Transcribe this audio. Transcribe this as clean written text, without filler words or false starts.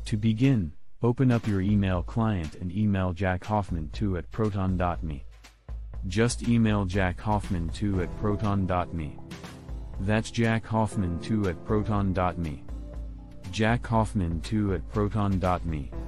To begin, open up your email client and email jackhoffman2@proton.me. Just email jackhoffman2@proton.me. That's jackhoffman2@proton.me. jackhoffman2@proton.me.